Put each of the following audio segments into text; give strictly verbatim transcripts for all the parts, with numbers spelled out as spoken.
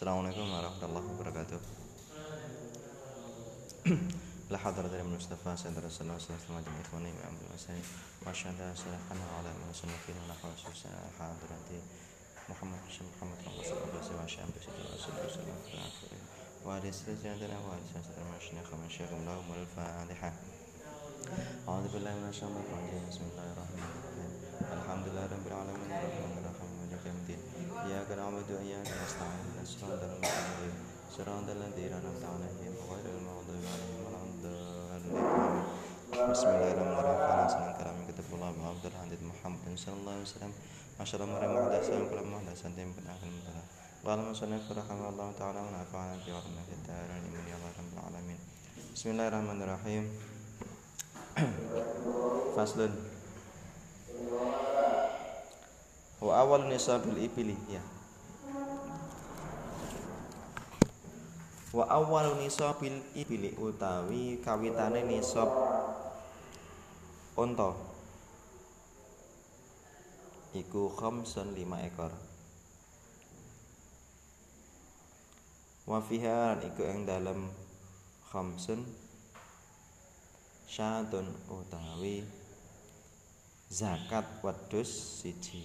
Assalamualaikum warahmatullahi wabarakatuh. La hadratil Mustafa sallallahu alaihi wasallam sallallahu ikhwani wa amri wasani masyaallah sallallahu ala musallafin wa khususan hadrati Muhammad Muhammad sallallahu alaihi wasallam sallallahu wa ala sayyidina wa ala sayyidina masyayikh masyayikh Allah wal Fatihah. A'udzu billahi minasyaitonir rajim. Bismillahirrahmanirrahim. Alhamdulillahirabbil alamin arrahmanir rahim maliki yaumiddin. Iyyaka na'budu wa iyyaka nasta'in. Shiratal mustaqim. Shiratal ladzina an'amta 'alaihim ghairil maghdubi 'alaihim waladdallin. Bismillahirrahmanirrahim. Salam kalamin kitabullah wa abdul hadid Muhammad sallallahu alaihi wasallam. Masyaallah mari muhdatsan kullu muhdatsatin bid'ah mudalah. Qala musannif rahimahullah ta'ala wa nafa'ana bi 'ilmihi fid-darin amin ya rabbal alamin. Bismillahirrahmanirrahim. Faslun wa awal nisabil ibili ya. Wa awal nisabil ibili utawi kawitane nisab unta iku khamsun lima ekor. Wa fiha iku ing dalem khamsun syatun utawi zakat wedhus siji.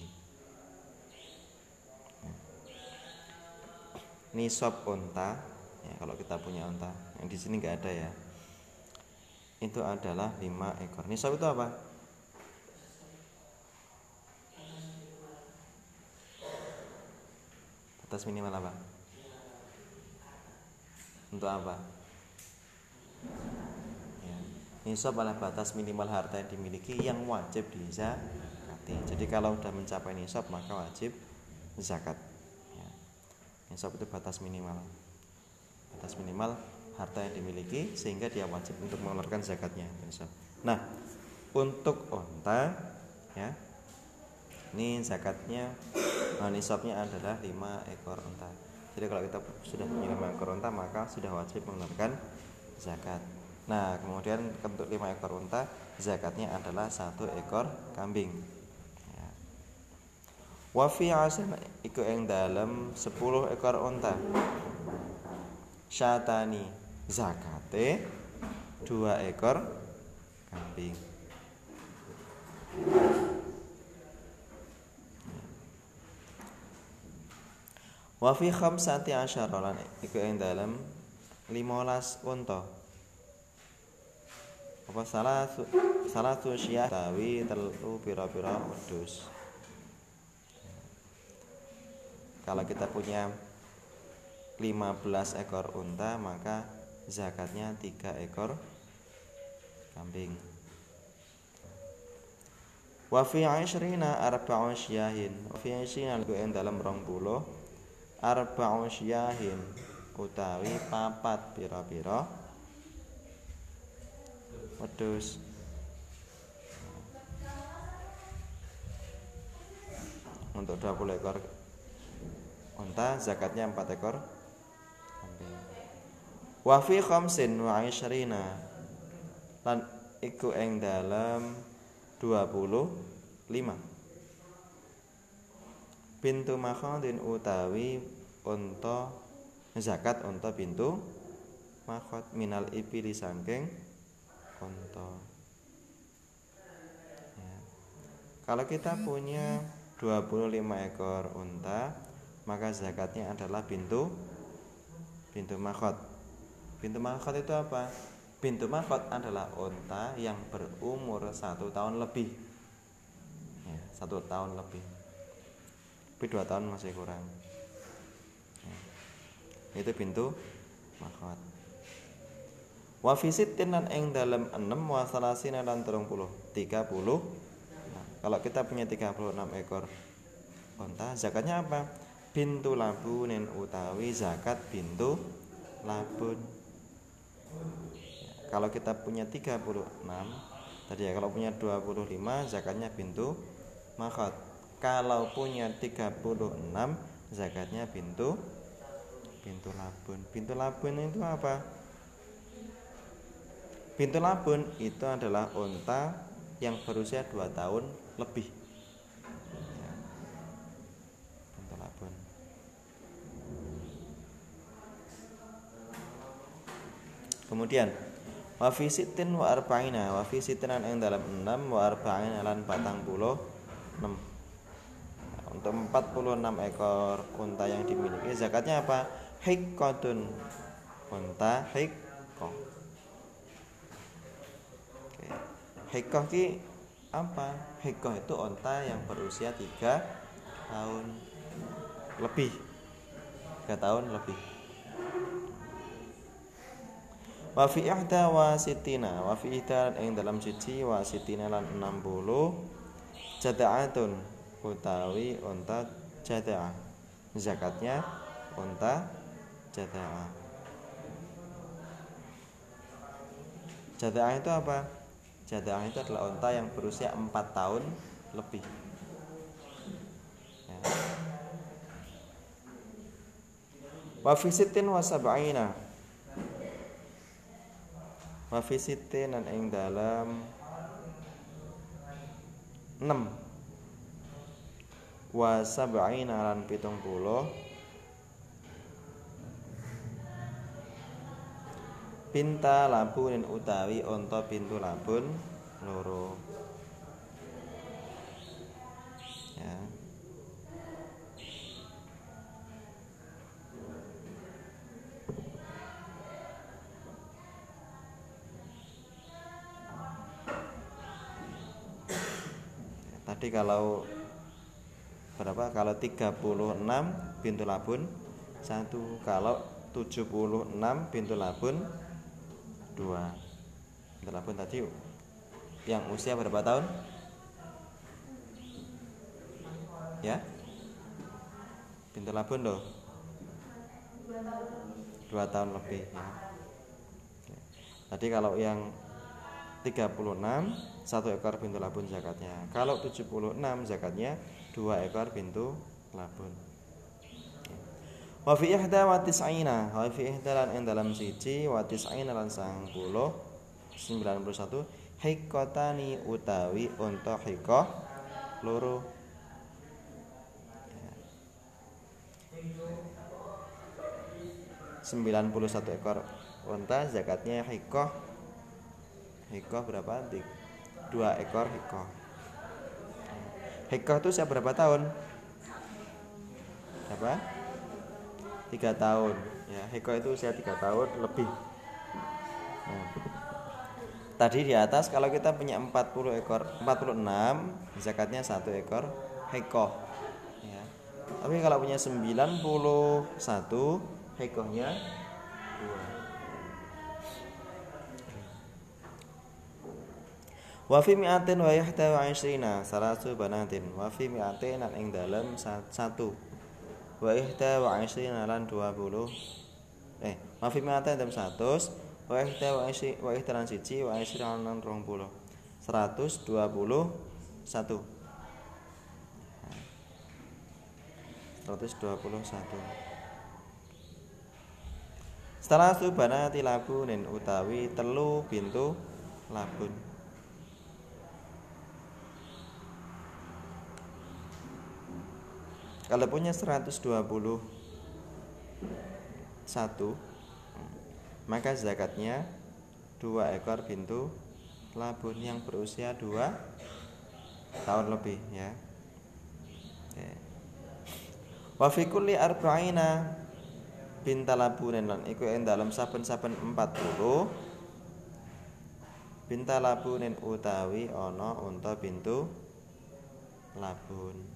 Nisab unta ya, kalau kita punya unta yang di sini nggak ada ya, itu adalah lima ekor. Nisab itu apa? Batas minimal apa? Untuk apa? Nisab adalah batas minimal harta yang dimiliki yang wajib dizakati. Jadi kalau sudah mencapai nisab maka wajib zakat. Ya. Nisab itu batas minimal, batas minimal harta yang dimiliki sehingga dia wajib untuk mengeluarkan zakatnya. Nisab. Nah, untuk unta, ya, ini zakatnya, nah, nisabnya adalah lima ekor unta. Jadi kalau kita sudah punya lima ekor unta maka sudah wajib mengeluarkan zakat. Nah, kemudian untuk lima ekor unta zakatnya adalah satu ekor kambing. Ya. Wa fi asan iku ing dalem sepuluh ekor unta. Syatani zakate dua ekor kambing. Wa fi khamsati asyara lan iku ing dalem limolas unta. Apa salah salah tu syah tawi telu pira-pira wedhus. Kalau kita punya lima belas ekor unta maka zakatnya tiga ekor kambing. Wa fi ashrina arba'u syahin. Wa fi ashrina ku ing dalem rong puluh arba'u syahin utawi papat pira-pira wedhus. Untuk dua puluh ekor unta zakatnya empat ekor kambing. Wa fi khamsin wa ishrina lan iku ing dalem dua puluh lima pintu makhadin utawi unta zakat unta pintu makhad minal ibili sangking unta. Ya. Kalau kita punya dua puluh lima ekor unta, maka zakatnya adalah bintu bintu makhad. Bintu makhad itu apa? Bintu makhad adalah unta yang berumur satu tahun lebih. Ya, satu tahun lebih. Tapi dua tahun masih kurang. Ya. Itu bintu makhad. Wa fi sittin lan ing dalem enam wa salasina lan telung puluh tiga puluh. Nah, kalau kita punya tiga puluh enam ekor unta zakatnya apa? Bintu labunin utawi zakat bintu labun. Ya, kalau kita punya tiga puluh enam tadi ya, kalau punya dua puluh lima zakatnya bintu makhad. Kalau punya tiga puluh enam zakatnya bintu bintu labun. Bintu labun itu apa? Bintu labun itu adalah unta yang berusia dua tahun lebih. Ya. Bintu labun. Kemudian wa fi sittin wa arba'ina, wa fi sittin ing dalam enam, wa arba'ina lan patang puluh enam. Untuk empat puluh enam ekor unta yang dimiliki zakatnya apa? Hiqqatun, unta hiqqah. Oke. Hiqqah ki apa? Hiqqah itu unta yang berusia tiga tahun lebih. tiga tahun lebih. Wa fi ihda wa sittina, wa fi ihda ing dalam siji wa sittina lan enam puluh jada'atun utawi unta jada'ah. Zakatnya unta jada'ah. Jada'ah itu apa? Jada'ah itu adalah unta yang berusia empat tahun lebih. Ya. Wa fi sittin wa sab'ina, wa fi sittin lan ing dalam enam, wa sab'ina lan pitung puluh pinta labunin utawi unta pintu labun loro. Ya. Tadi kalau berapa? Kalau tiga puluh enam pintu labun satu, kalau tujuh puluh enam pintu labun dua. Pintu labun tadi yang usia berapa tahun? Ya? Pintu labun loh. dua tahun lebih ya. Tadi kalau yang tiga puluh enam satu ekor pintu labun zakatnya. Kalau tujuh puluh enam zakatnya dua ekor pintu labun. Wa fi ihda wa tis'ina, wa fi ihda lan ing dalam siji wa tis'ina lan sangang puluh sembilan puluh satu hiqqatani utawi unta hiqqah loro. sembilan puluh satu ekor unta zakatnya hiqqah. Hiqqah berapa? dua ekor hiqqah. Hiqqah itu siap berapa tahun? Berapa? tiga tahun. Ya, hiqqah itu usia tiga tahun lebih. Nah, tadi di atas kalau kita punya empat puluh ekor, empat puluh enam, zakatnya satu ekor hiqqah. Ya. Tapi kalau punya sembilan puluh satu, hiqqahnya dua. Wa fi mi'atin wa ihda wa ishrina salasu banatin, wa fi mi'atin lan ing dalem satu, wa ihda wa ishrina lan dua puluh, eh wa fi mi'atin dalem seratus, wa ihda wa ishrina wa ihda lan siji wa ishrina lan dua puluh, seratus dua puluh satu, seratus dua puluh satu. Salasu banati labunin utawi telu bintu labun. Kalau punya seratus dua puluh satu, maka zakatnya dua ekor bintu labun yang berusia dua tahun lebih ya. Wa fi kulli arba'ina binta labunin lan iku ing dalem saben-saben empat puluh binta labunin utawi ana unta bintu labun.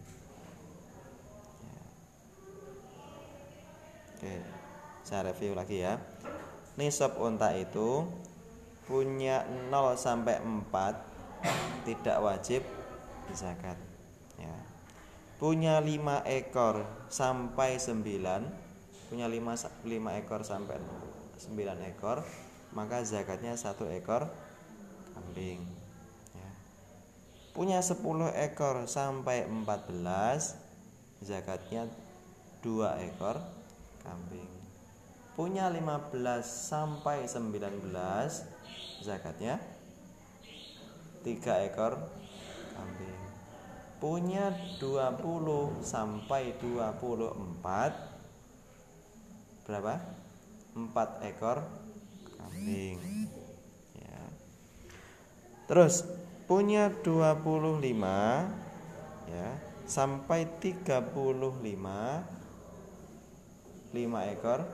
Oke, saya review lagi ya. Nisab unta itu punya nol sampai empat tidak wajib zakat ya. Punya lima ekor sampai sembilan, punya lima, lima ekor sampai sembilan ekor, maka zakatnya satu ekor kambing ya. Punya sepuluh ekor sampai empat belas, zakatnya dua ekor kambing. Punya lima belas sampai sembilan belas, zakatnya tiga ekor kambing. Punya dua puluh sampai dua puluh empat, berapa? empat ekor kambing. Ya. Terus punya dua puluh lima ya sampai tiga puluh lima lima ekor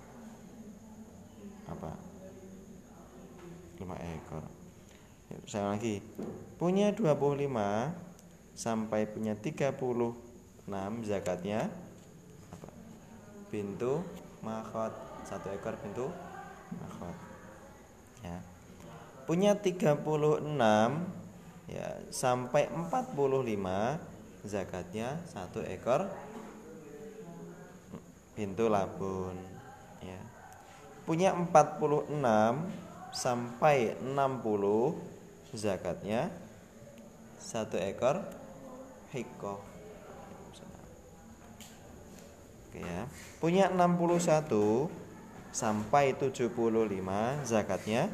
apa? lima ekor. Ya, saya lagi. Punya dua puluh lima sampai punya tiga puluh enam zakatnya apa? Bintu makhot, satu ekor bintu makhot. Ya. Punya tiga puluh enam ya sampai empat puluh lima zakatnya satu ekor bintu labun. Ya. Punya empat puluh enam sampai enam puluh zakatnya satu ekor hikoh. Oke ya. Punya enam puluh satu sampai tujuh puluh lima zakatnya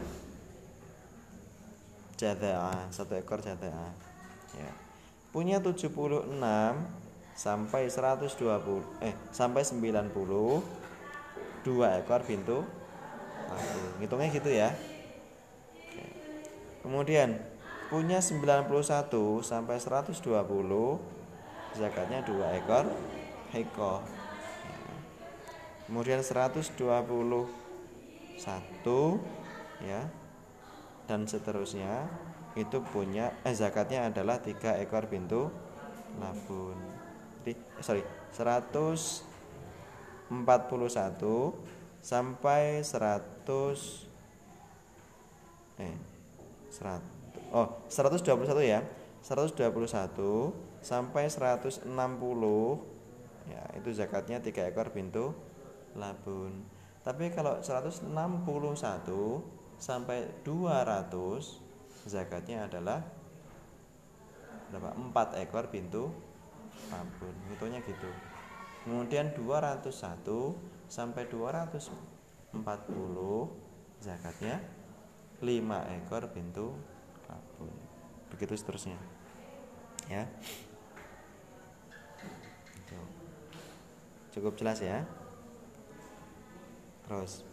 jada'ah, satu ekor jada'ah. Ya. Punya tujuh puluh enam sampai seratus dua puluh eh sampai sembilan puluh dua ekor bintu labun. Hitungnya gitu ya. Oke. Kemudian punya sembilan puluh satu sampai seratus dua puluh zakatnya dua ekor hikoh. Ya. Kemudian seratus dua puluh satu ya dan seterusnya itu punya eh zakatnya adalah tiga ekor bintu labun. Jadi sorry seratus empat puluh satu sampai seratus eh seratus oh seratus dua puluh satu ya seratus dua puluh satu sampai seratus enam puluh ya itu zakatnya tiga ekor bintu labun. Tapi kalau seratus enam puluh satu sampai dua ratus zakatnya adalah berapa? empat ekor bintu labun. Hitungnya gitu. Kemudian dua ratus satu sampai dua ratus empat puluh zakatnya lima ekor bintu labun. Begitu seterusnya. Ya. Cukup jelas ya? Terus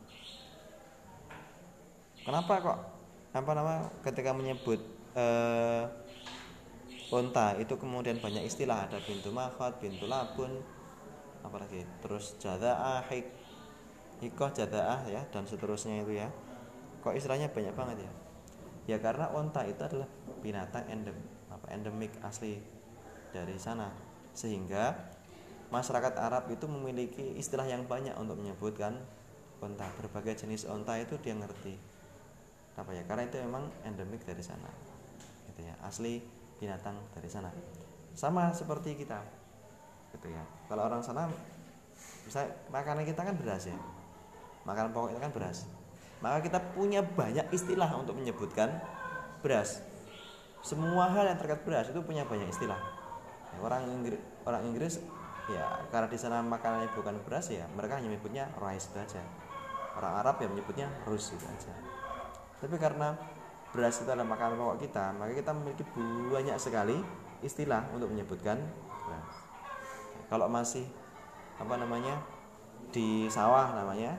kenapa kok apa nama ketika menyebut uh, unta itu kemudian banyak istilah, ada bintu makhot, bintu labun, apalagi terus jada'ah, hik, hikoh, jada'ah ya dan seterusnya itu ya. Kok istilahnya banyak banget ya? Ya karena unta itu adalah binatang endem, apa endemik asli dari sana, sehingga masyarakat Arab itu memiliki istilah yang banyak untuk menyebutkan unta. Berbagai jenis unta itu dia ngerti. Apa ya? Karena itu memang endemik dari sana. Gitu ya, asli binatang dari sana. Sama seperti kita. Gitu ya. Kalau orang sana misalnya makanan kita kan beras ya. Makanan pokok kita kan beras. Maka kita punya banyak istilah untuk menyebutkan beras. Semua hal yang terkait beras itu punya banyak istilah. Ya, orang Inggris, orang Inggris ya karena di sana makanannya bukan beras ya mereka hanya menyebutnya rice itu aja. Orang Arab ya menyebutnya rus itu aja. Tapi karena beras itu adalah makanan pokok kita, maka kita memiliki banyak sekali istilah untuk menyebutkan beras. Kalau masih apa namanya di sawah namanya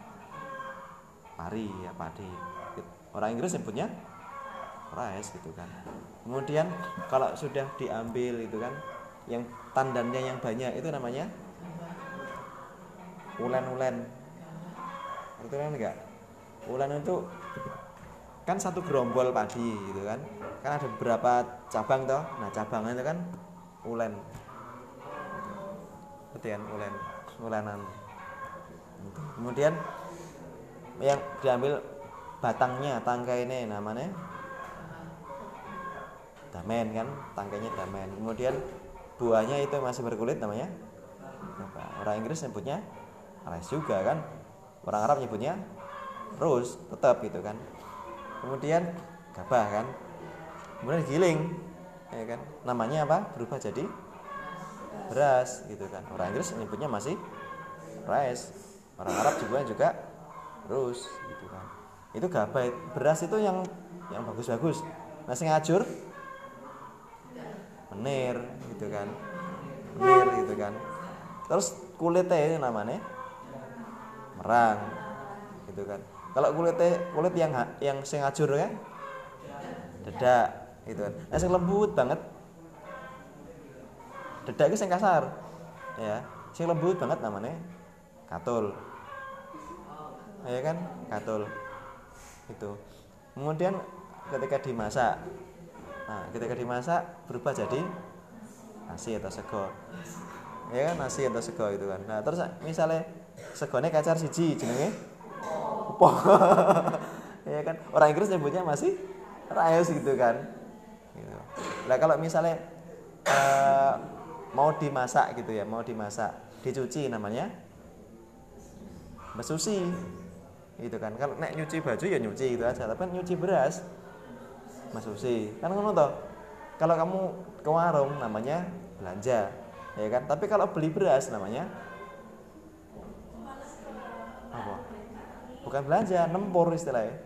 pari ya padi. Orang Inggris sebutnya rice gitu kan. Kemudian kalau sudah diambil itu kan yang tandannya yang banyak itu namanya ulen-ulen. Itu kan enggak? Ulen itu kan satu gerombol padi gitu kan. Kan ada beberapa cabang toh. Nah, cabangnya itu kan ulen. Betul kan ulen, ulenan. Kemudian yang diambil batangnya, tangkai ini namanya damen kan, tangkainya damen. Kemudian buahnya itu masih berkulit namanya apa? Orang Inggris nyebutnya rice juga kan. Orang Arab nyebutnya rose tetap gitu kan. Kemudian gabah kan. Kemudian giling ya kan. Namanya apa? Berubah jadi beras gitu kan. Orang Inggris nyebutnya masih rice. Orang Arab juga juga rose gitu kan. Itu gabah, beras itu yang yang bagus-bagus. Nah, sing ngajur menir gitu kan. Menir gitu kan. Terus kulitnya ini namanya merang gitu kan. Kalau kulitnya kulit yang yang sing ajur kan dedak gitu kan. Nah sing lembut banget dedak itu sing kasar ya. Sing lembut banget namanya katul. Ya kan? Katul. Itu. Kemudian ketika dimasak. Nah, ketika dimasak berubah jadi nasi atau sego. Ya kan nasi atau sego itu kan. Nah, terus misalnya segone kacar siji jenenge opo. Ya kan? Orang Inggris nyebutnya masih rice gitu kan. Gitu. Nah, kalau misalnya uh, mau dimasak gitu ya, mau dimasak, dicuci namanya mesusi. Gitu kan. Kalau nek nyuci baju ya nyuci gitu aja, tapi kan nyuci beras mesusi. Kan ngono toh. Kalau kamu ke warung namanya belanja, ya kan? Tapi kalau beli beras namanya apa? Bukan belanja, nempur istilahnya.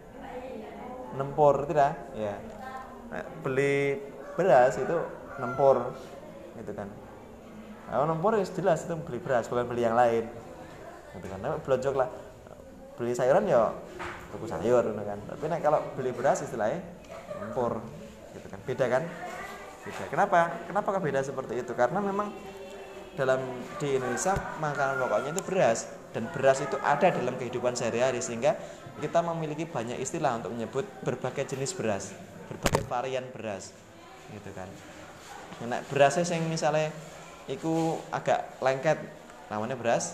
Nempur tidak? Ya. Nah, beli beras itu nempur, gitu kan? Kalau nempur ya jelas itu beli beras, bukan beli yang lain, gitu kan? Nah, belanja lah, beli sayuran ya tuku sayur, gitu kan? Tapi nah, kalau beli beras istilahnya nempur, gitu kan? Beda kan? Beda. Kenapa? Kenapa beda seperti itu? Karena memang dalam di Indonesia makanan pokoknya itu beras, dan beras itu ada dalam kehidupan sehari-hari sehingga kita memiliki banyak istilah untuk menyebut berbagai jenis beras, berbagai varian beras, gitu kan. Nah, berasnya yang misalnya itu agak lengket namanya beras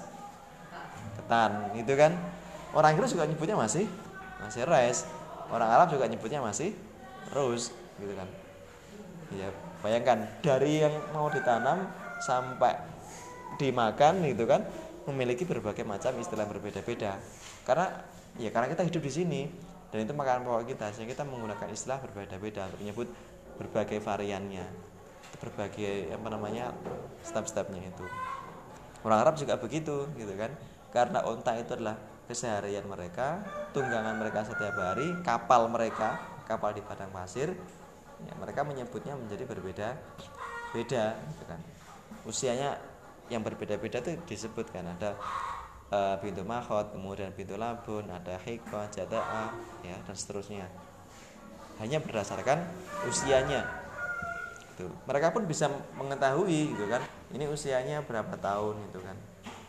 ketan, gitu kan. Orang Inggris juga nyebutnya masih masih rice, orang Arab juga nyebutnya masih rose, gitu kan. Ya, bayangkan dari yang mau ditanam sampai dimakan gitu kan memiliki berbagai macam istilah berbeda-beda. Karena ya karena kita hidup di sini dan itu makanan pokok kita, sehingga kita menggunakan istilah berbeda-beda untuk menyebut berbagai variannya, berbagai apa namanya step-stepnya itu. Orang Arab juga begitu gitu kan. Karena onta itu adalah keseharian mereka, tunggangan mereka setiap hari, kapal mereka, kapal di padang pasir. Ya, mereka menyebutnya menjadi berbeda beda gitu kan. Usianya yang berbeda-beda itu disebutkan ada uh, bintu makhot, kemudian bintu labun, ada hikmah, jadaah ya dan seterusnya. Hanya berdasarkan usianya. Gitu. Mereka pun bisa mengetahui gitu kan. Ini usianya berapa tahun gitu kan.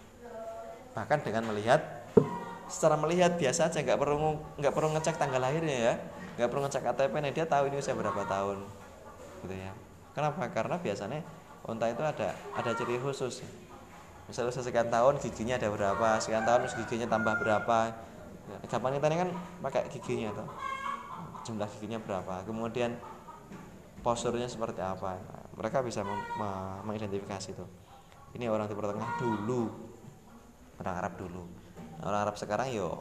Bahkan dengan melihat secara melihat biasa aja, nggak perlu nggak perlu ngecek tanggal lahirnya ya. Nggak perlu ngecek K T P nih, dia tahu ini usia berapa tahun gitu ya. Kenapa? Karena biasanya unta itu ada ada ciri khusus. Misalnya sekian tahun giginya ada berapa, sekian tahun giginya tambah berapa. Gampang kita ini kan pakai giginya tuh, jumlah giginya berapa, kemudian posturnya seperti apa. Nah, mereka bisa mem- mem- mengidentifikasi itu. Ini orang Timur Tengah dulu, orang Arab dulu. Orang Arab sekarang yo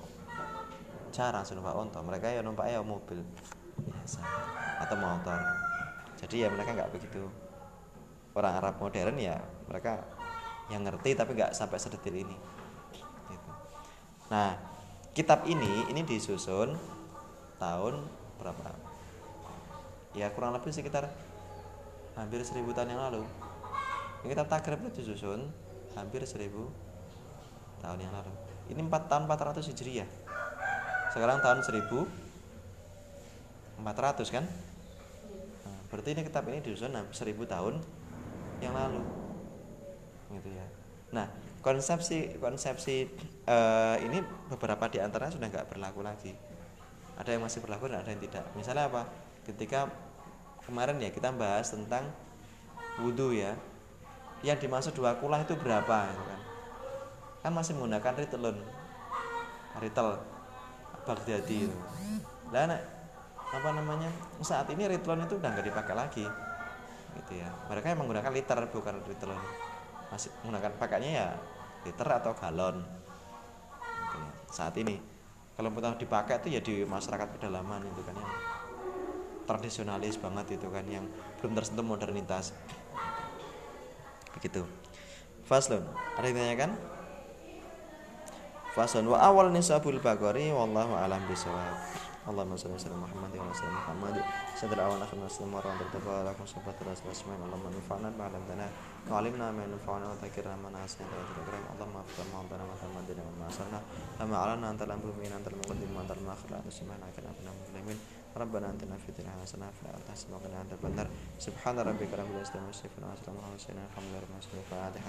jarang numpak onto, mereka ya numpak ya mobil biasa atau motor. Jadi ya mereka nggak begitu. Orang Arab modern ya mereka yang ngerti tapi nggak sampai sedetil ini. Gitu. Nah, kitab ini ini disusun tahun berapa? Ya kurang lebih sekitar hampir seribu tahun yang lalu. Kitab Takrib itu disusun hampir seribu tahun yang lalu. Ini empat tahun empat ratus Hijriah. Sekarang tahun seribu empat ratus kan? Nah, berarti ini kitab ini disusun seribu tahun yang lalu, gitu ya. Nah, konsepsi konsepsi uh, ini beberapa di antaranya sudah nggak berlaku lagi. Ada yang masih berlaku dan ada yang tidak. Misalnya apa? Ketika kemarin ya kita bahas tentang wudhu ya, yang dimaksud dua kulah itu berapa? Gitu kan? Kan masih menggunakan ritelun, ritel. Baghdadi itu. Lah apa namanya? Saat ini ritlon itu udah nggak dipakai lagi. Gitu ya. Mereka yang menggunakan liter bukan ritlon. Masih menggunakan pakainya ya liter atau galon. Gitu ya. Saat ini kalau mau dipakai itu ya di masyarakat pedalaman itu kan yang tradisionalis banget itu kan yang belum tersentuh modernitas. Begitu. Faslun. Ada yang ditanyakan? Fasun wa awal nisabul baqari wallahu alam bisawab. Allahumma shalli ala Muhammad wa ala Muhammad sadra awan akhir muslim wa rahmat taala lakum sabat rasulullahi Allahumma nafa'na ba'da dana wa 'allimna ma yanfa'una wa dzakirna ma nasi'na wa dzikra Allahumma afdal ma dana wa tamadina wa ma'asana ama 'alana antal amrumin antal muqaddim antal mu'akhir subhana kana abna muslimin rabbana atina fid dunya hasanah wa fil akhirati hasanah wa qina adzaban nar subhana rabbika rabbil izzati amma yasifun wa salamun 'alal mursalin alhamdulillahi rabbil alamin Fatihah.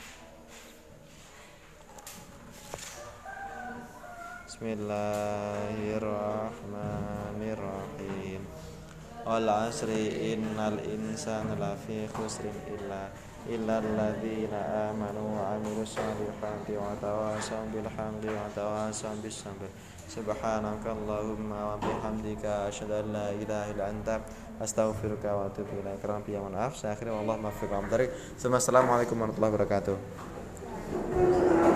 Bismillahirrahmanirrahim. Wal 'asri innal insana lafi khusrin illa illal ladzina amanu wa 'amilus shalihati wa tawasaw bil haqqi wa tawasaw bis sabr. Subhanakallahumma wa bihamdika asyhadu an la ilaha illa anta astaghfiruka wa atubu ilaik. Rabbi ya maaf, saya akhiri wallahu muwaffiq wa mudarik. Assalamualaikum warahmatullahi wabarakatuh.